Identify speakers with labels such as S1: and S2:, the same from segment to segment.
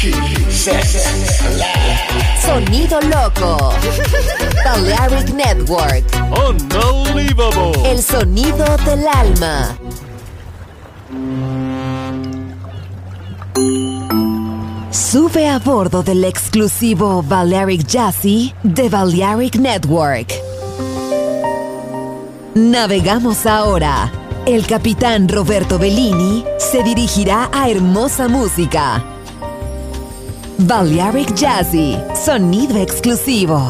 S1: Sonido loco. Balearic Network.
S2: Unbelievable.
S1: El sonido del alma. Sube a bordo del exclusivo Balearic Jazzy de Balearic Network. Navegamos ahora. El capitán Roberto Bellini se dirigirá a hermosa música. Balearic Jazzy, sonido exclusivo.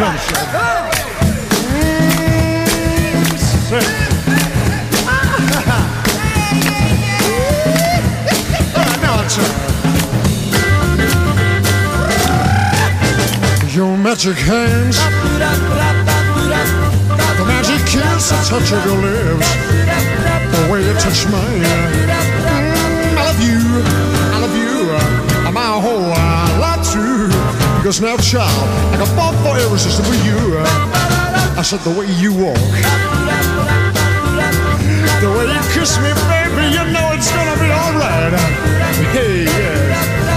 S3: drum set. Now I'll turn. Your magic hands, the magic kiss, the touch of your lips, the way you touch mine. I love you, I love you, my whole life too. Because now, child, I can fall for irresistible you. I said the way you walk, the way you kiss me, baby, you know it's gonna be alright. Hey, yeah,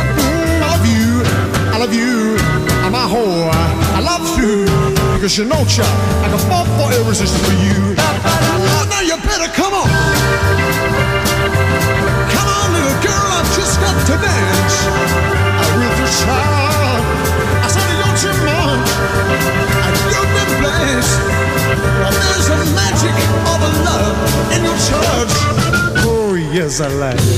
S3: I love you, my whole I love you. Because you know, child, I can fall for irresistible you. Oh, now you better come on. Come on, little girl, I've just got to dance. With your child, I said you're too much, and you've been blessed. Well, there's a magic of a love in your touch. Oh, yes, I like it.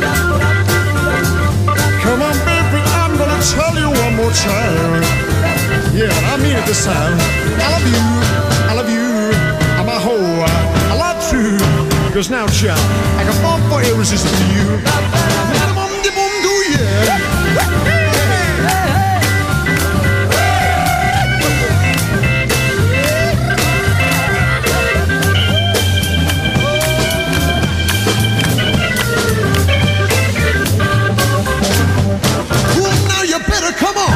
S3: Come on, baby, I'm gonna tell you one more time. Yeah, I mean it this time. I love you, I'm a hoe, I love you. Because now, child, I can fall for irresistible you. Come on,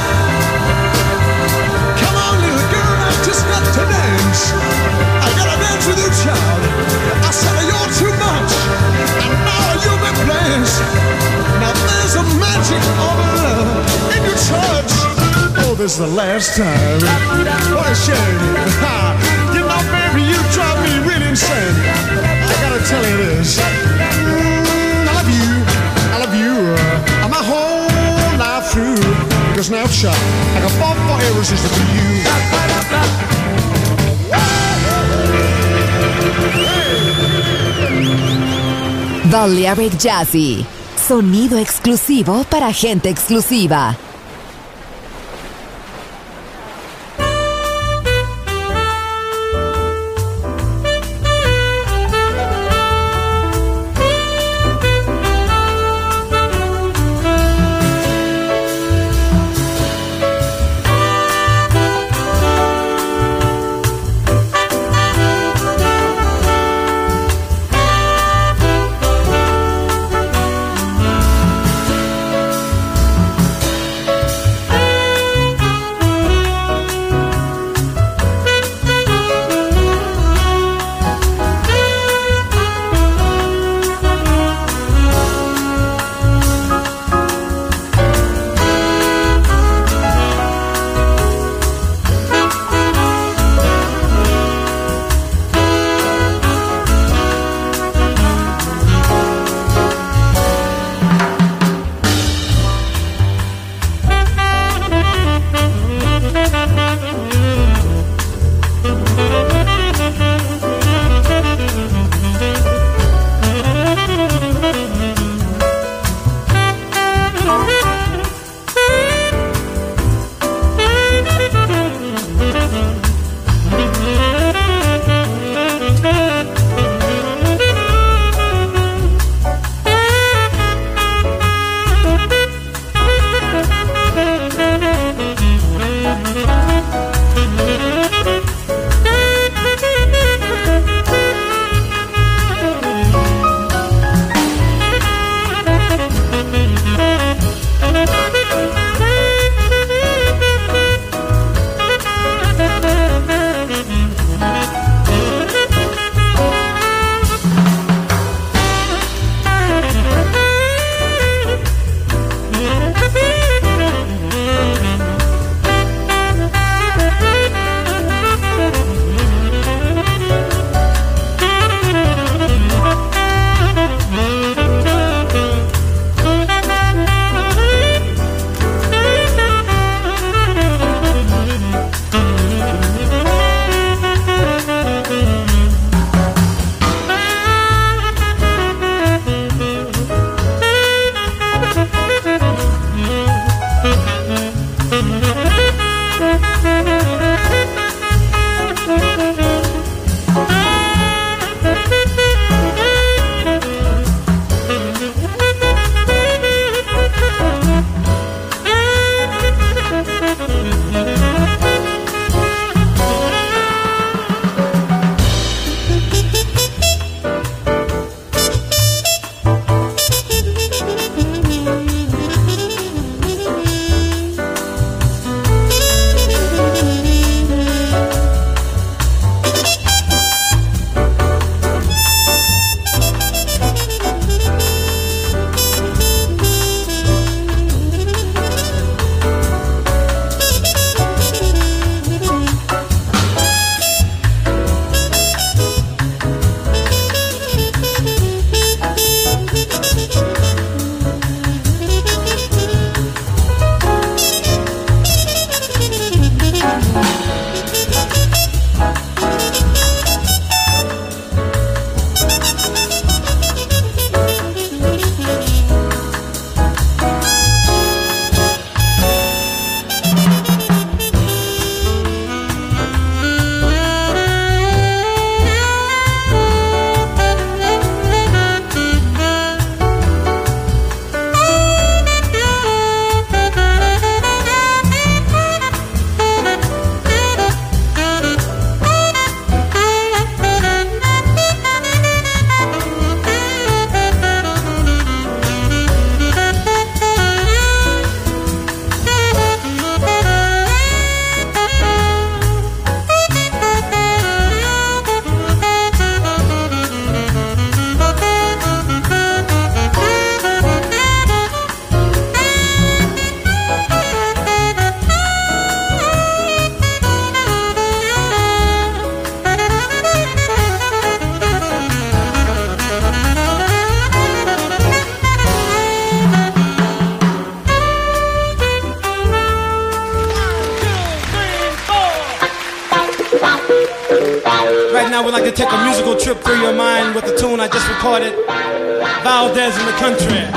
S3: little girl, I've just got to dance. I gotta dance with you, child. I said you're too much, and now you've been blessed. Now there's a magic of love in your touch. Oh, this is the last time. What a shame. You know, baby, you drive me really insane. I gotta tell you this. I love you, I'm a whole life through. Because now, child, I can fall for irresistible you.
S1: Balearic Jazzy, sonido exclusivo para gente exclusiva.
S4: now we'd like to take a musical trip through your mind with the tune I just recorded, Valdez in the Country.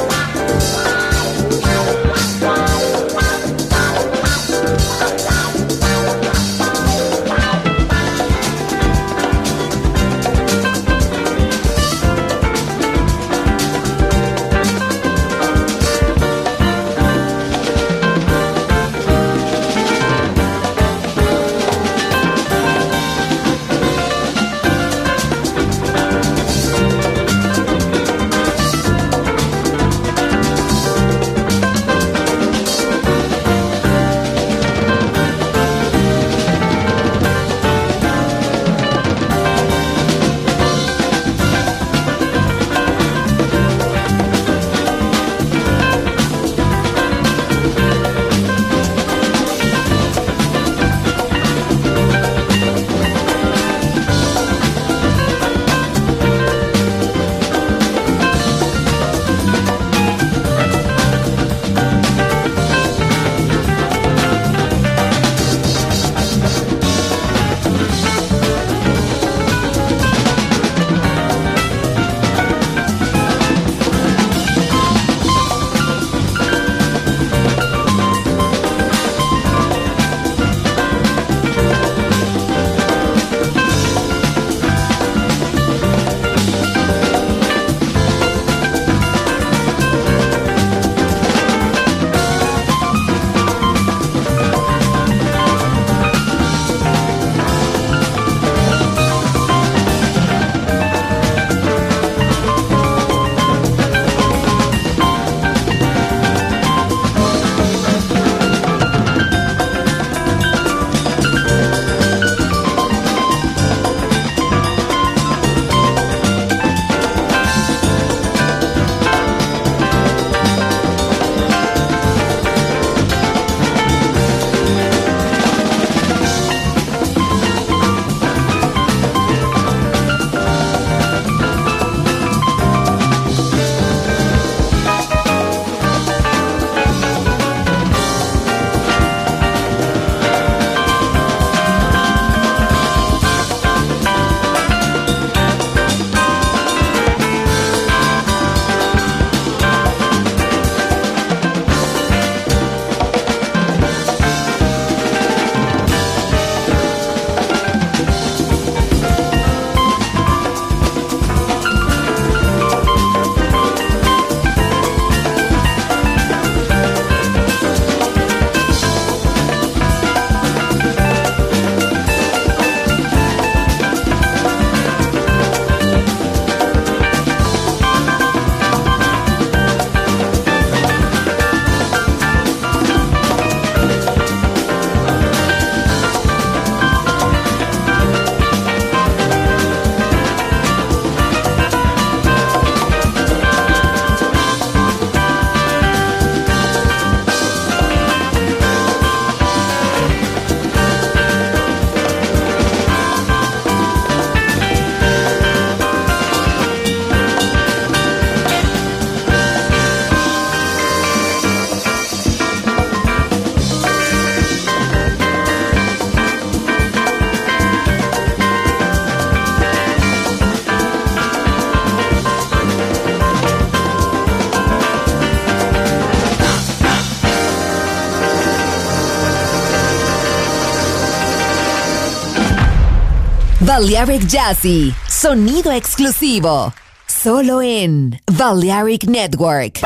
S1: Balearic Jazzy, sonido exclusivo, solo en Balearic Network.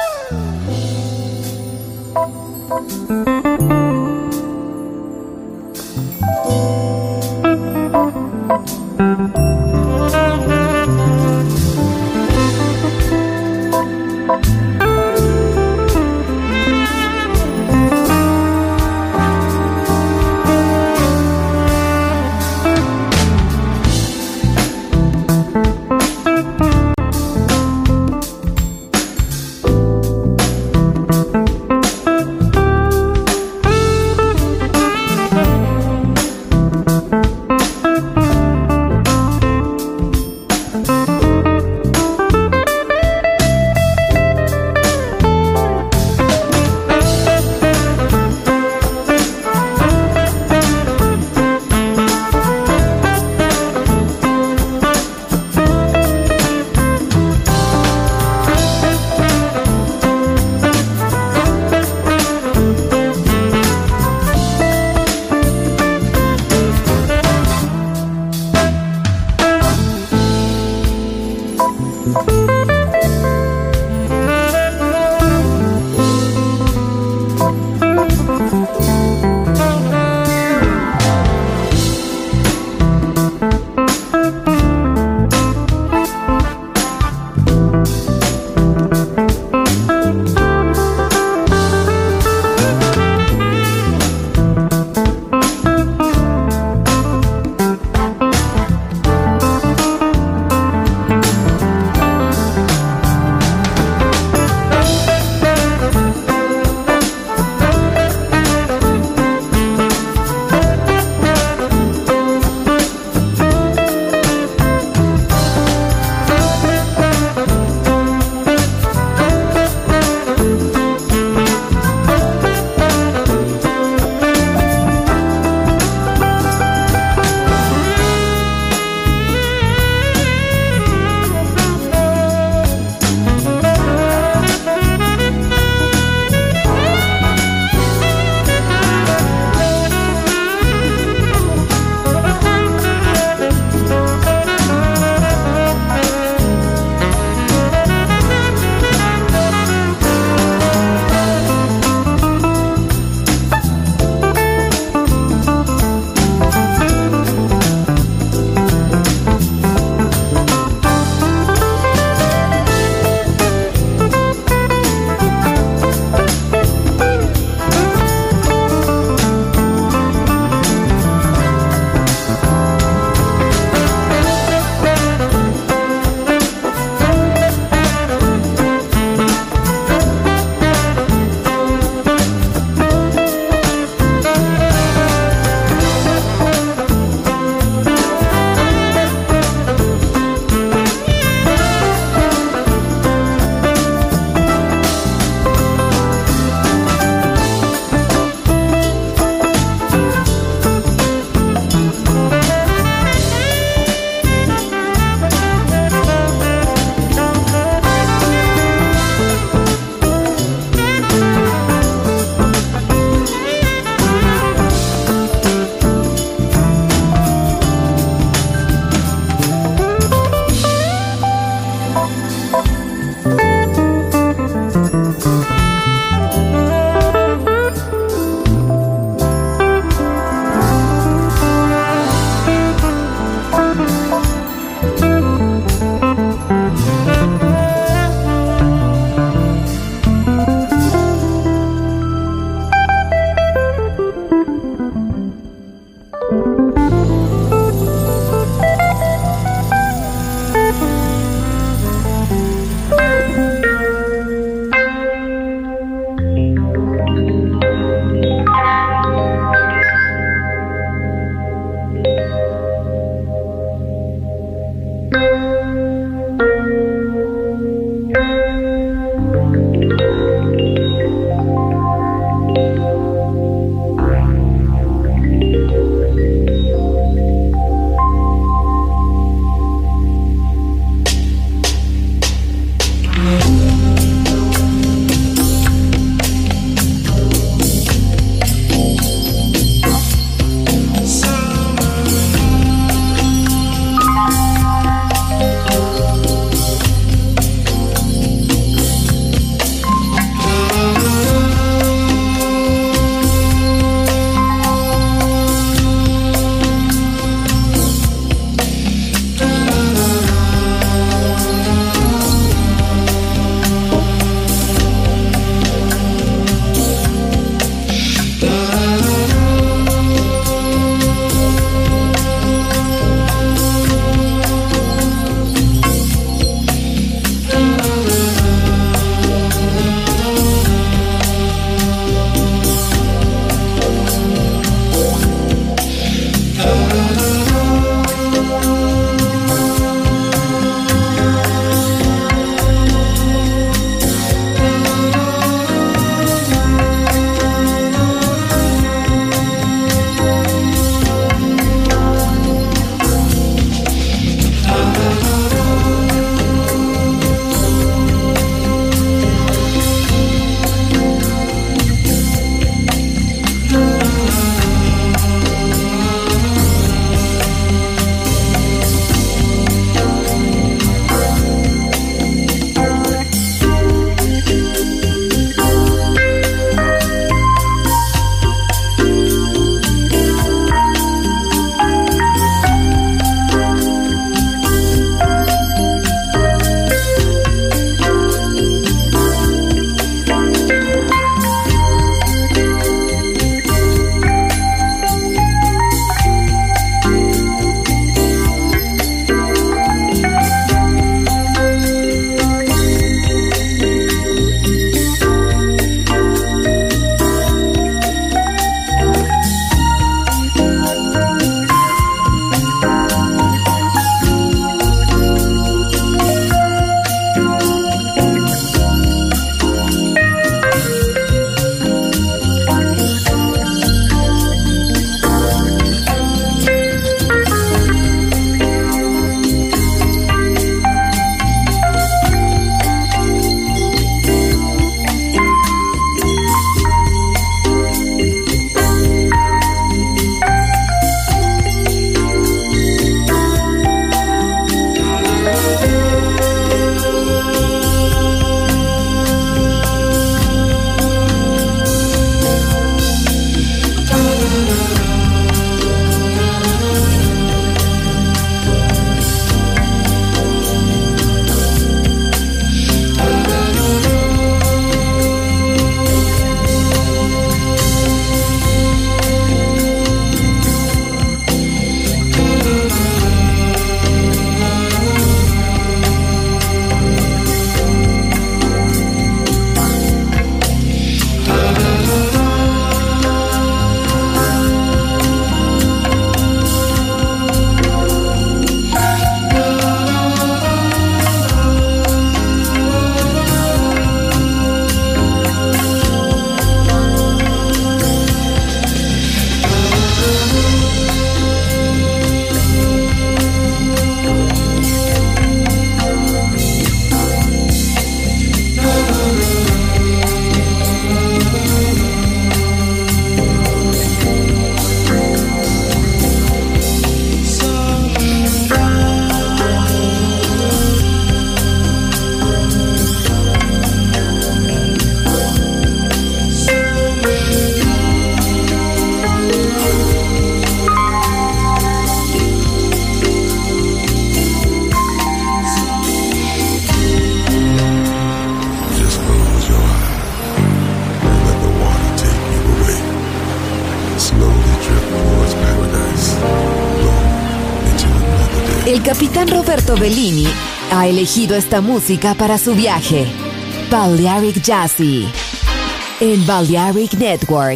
S1: El capitán Roberto Bellini ha elegido esta música para su viaje. Balearic Jazzy en Balearic Network.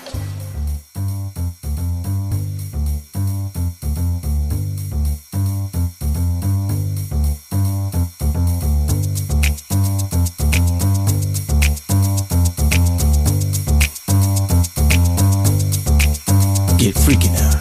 S5: Get freaky now.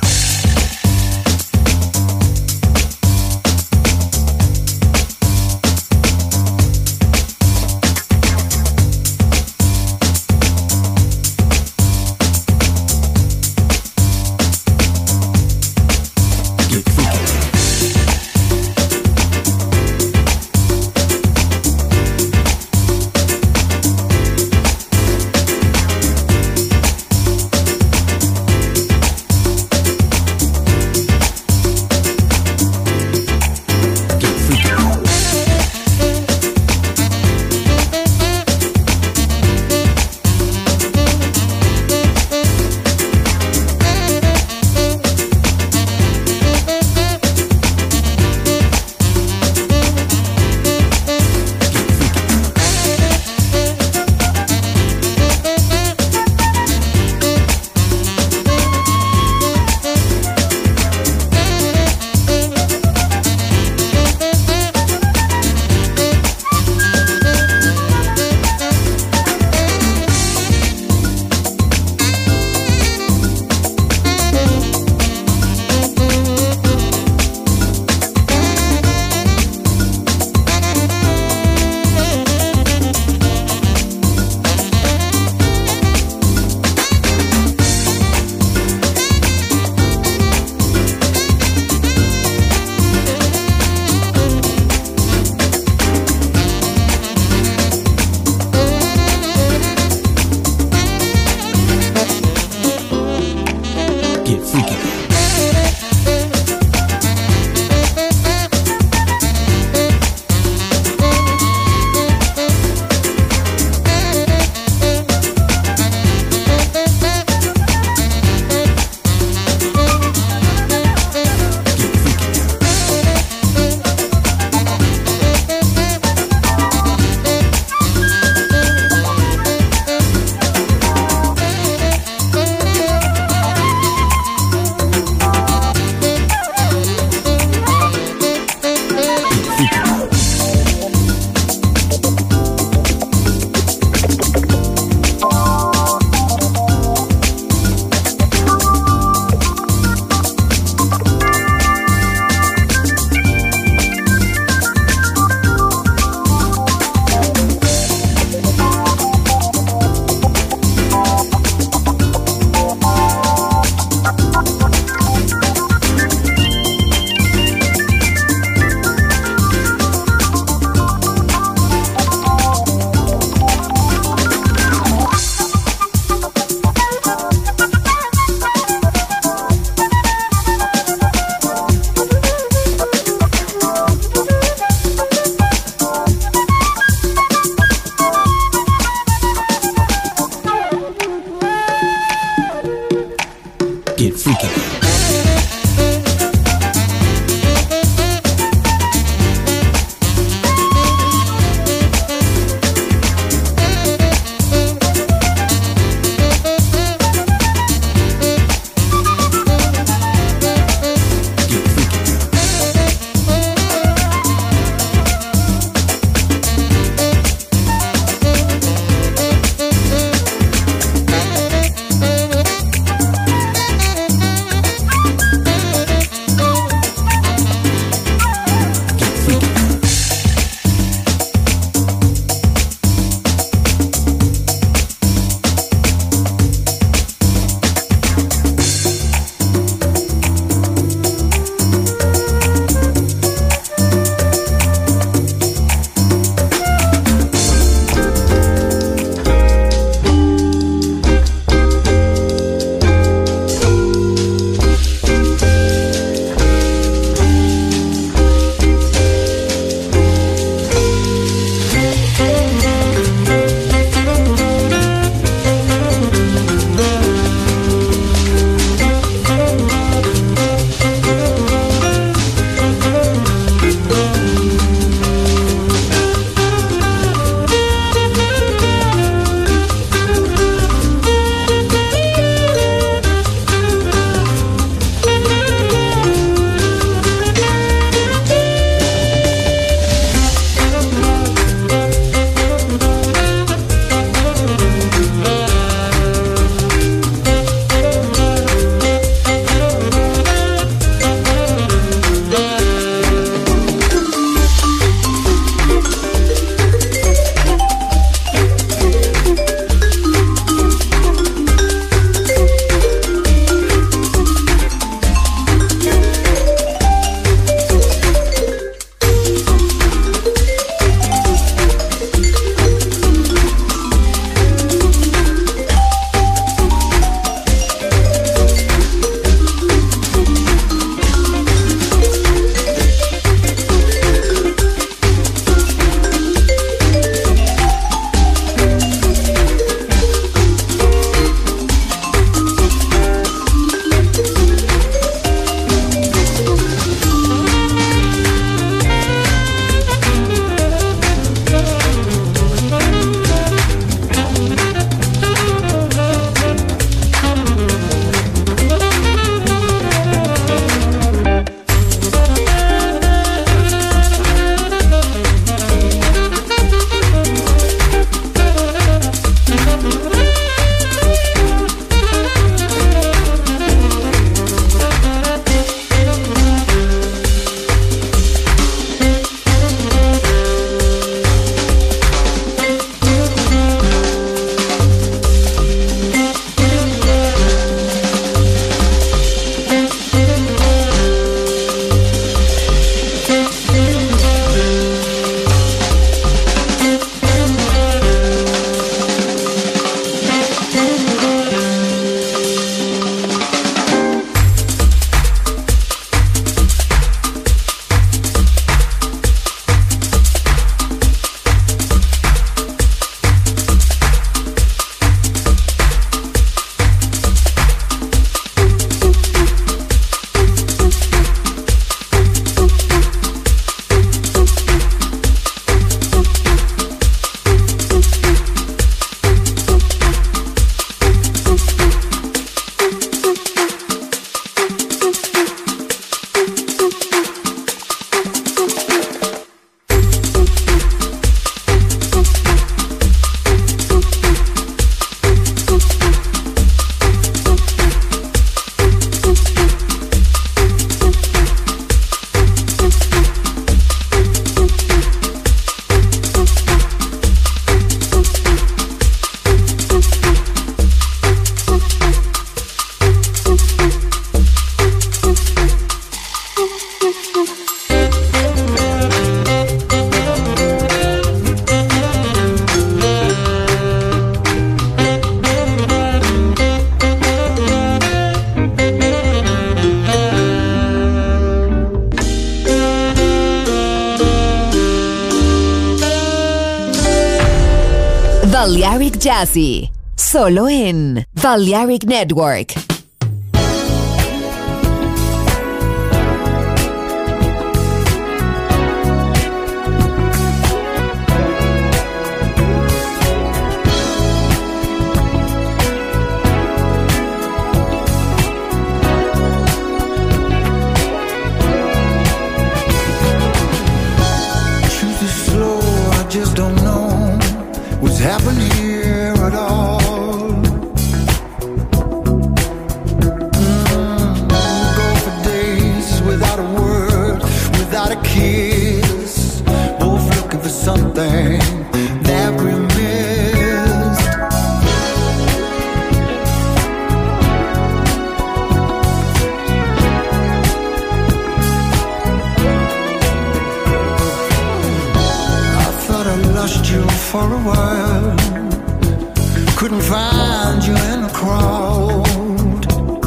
S1: Balearic Jazzy, solo en Balearic Network.
S6: Just don't know what's happening here at all. Go for days without a word, without a kiss, both looking for something that we missed. I lost you for a while, couldn't find you in the crowd.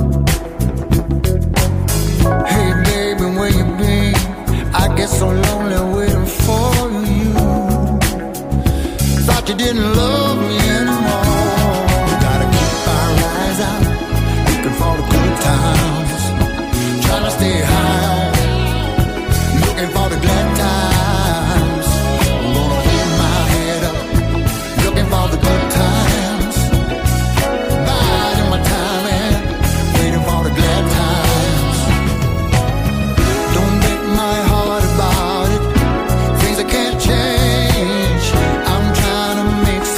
S6: Hey baby, where you been? I get so lonely waiting for you. Thought you didn't love me anymore. We gotta keep our eyes out, looking for the good times, trying to stay high on, looking for the glad times. All the good times, biding my time and waiting for the glad times. Don't break my heart about it, things I can't change. I'm trying to make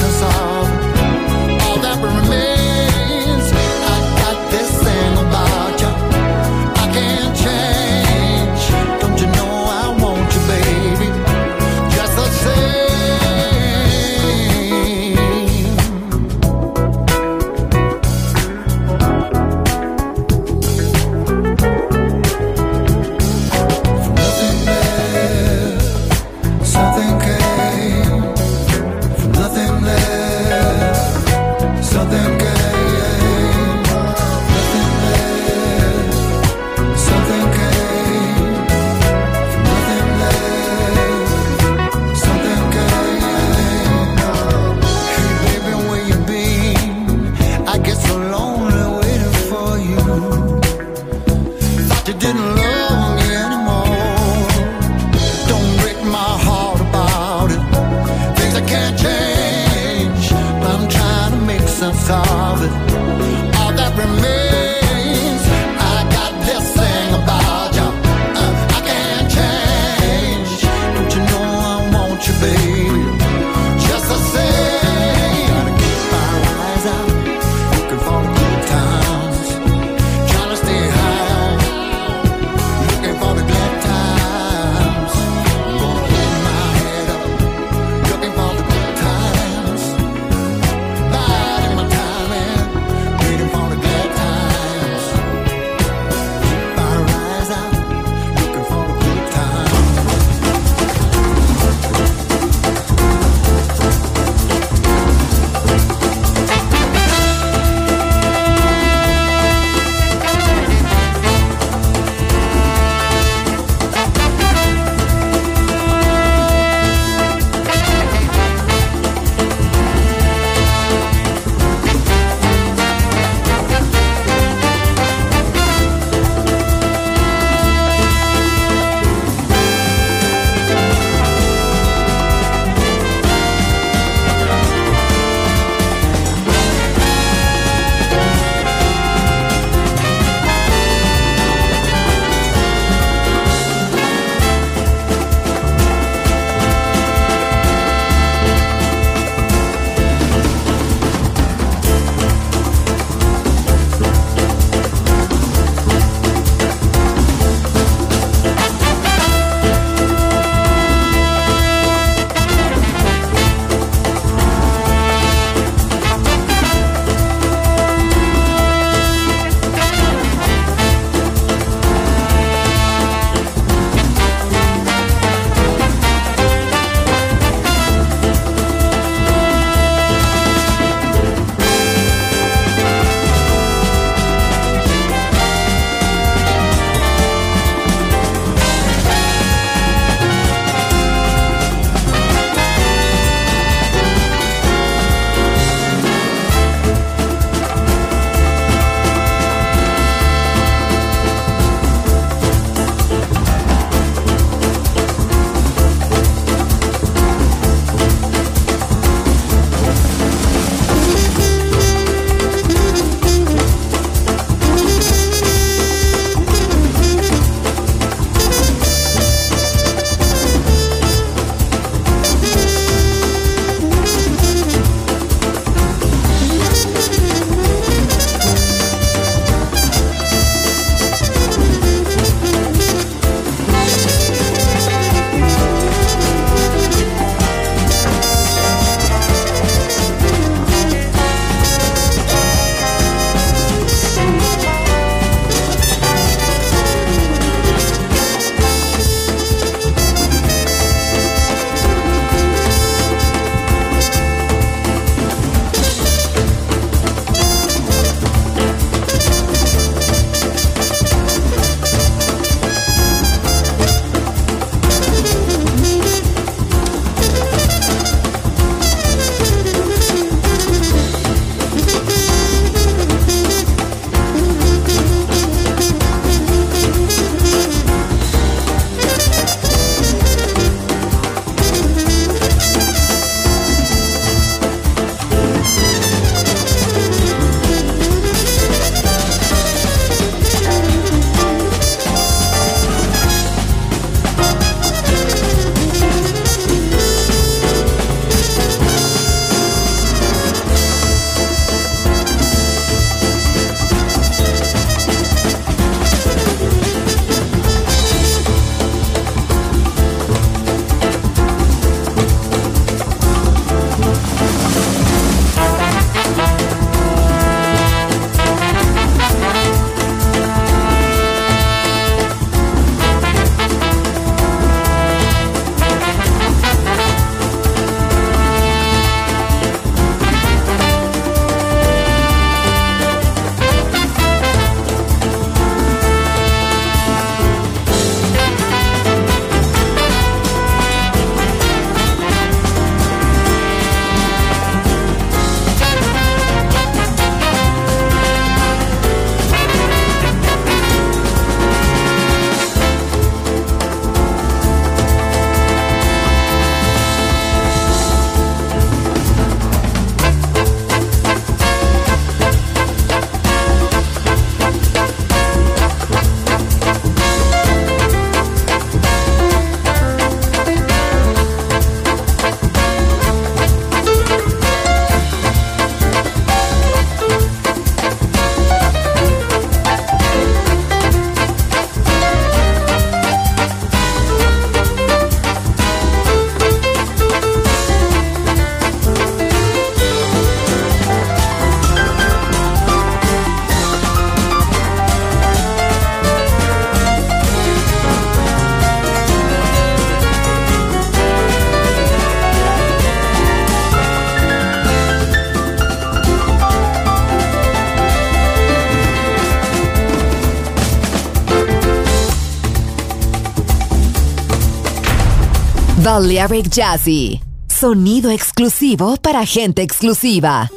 S1: Balearic Jazzy. Sonido exclusivo para gente exclusiva.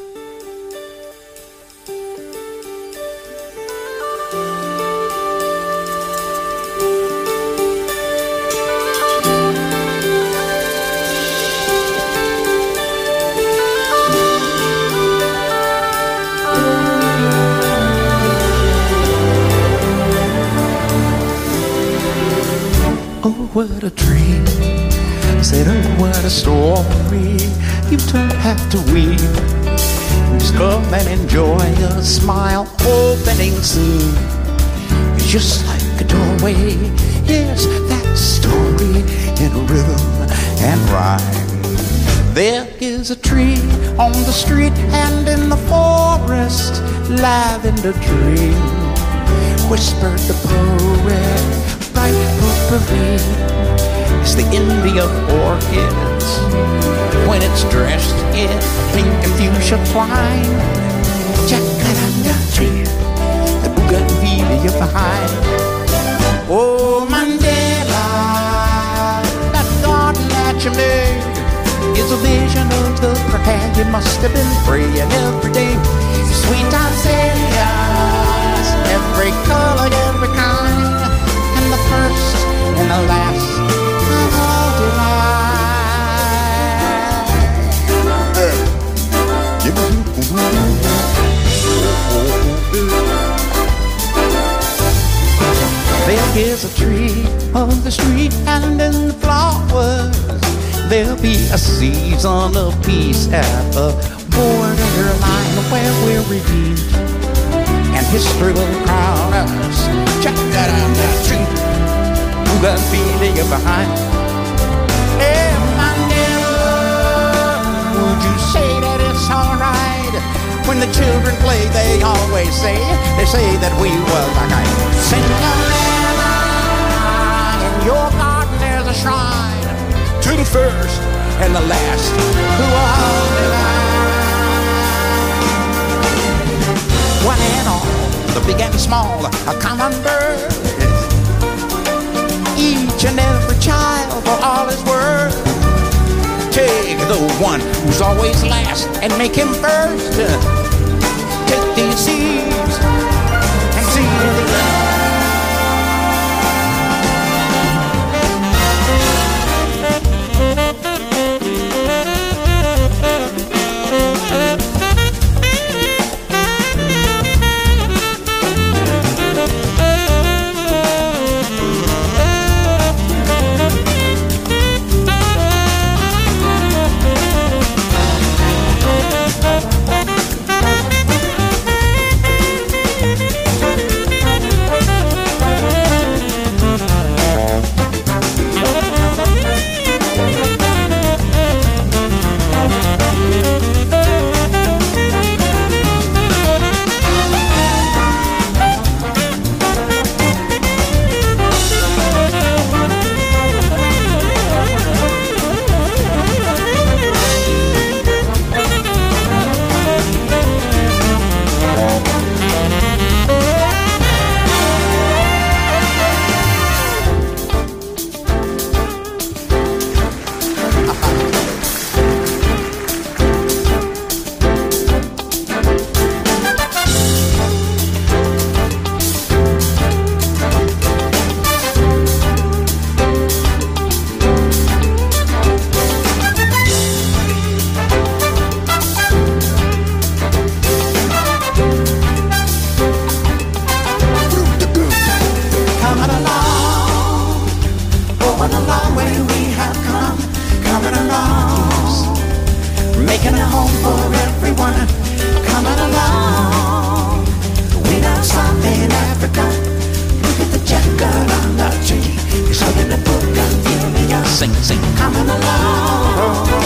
S5: Oh, what a dream. Said, oh, what a story. You don't have to weep. Just come and enjoy a smile opening soon. It's just like a doorway. Yes, that story in rhythm and rhyme. There is a tree on the street and in the forest. Lavender dream, whispered the poet. Bright potpourri, it's the Indian orchids when it's dressed in pink and fuchsia twine. Jacaranda tree, the bougainvillea behind. Oh, Mandela, that garden that you made is a vision of the prayer you must have been praying every day. Sweet azaleas, every color, every kind. The first and the last of all There is a tree on the street and in the flowers. There'll be a season of peace at the borderline where we're redeemed. And history will crown us. Check that out, that tree. Who got feeling behind? Hey, Mandela, would you say that it's alright? When the children play, they always say that we were like Cinderella. In your garden there's a shrine to the first and the last who are divine. One and all, the big and small, a common bird. Each and every child for all his worth. Take the one who's always last and make him first. Take these seeds and see the earth. Sing, coming along.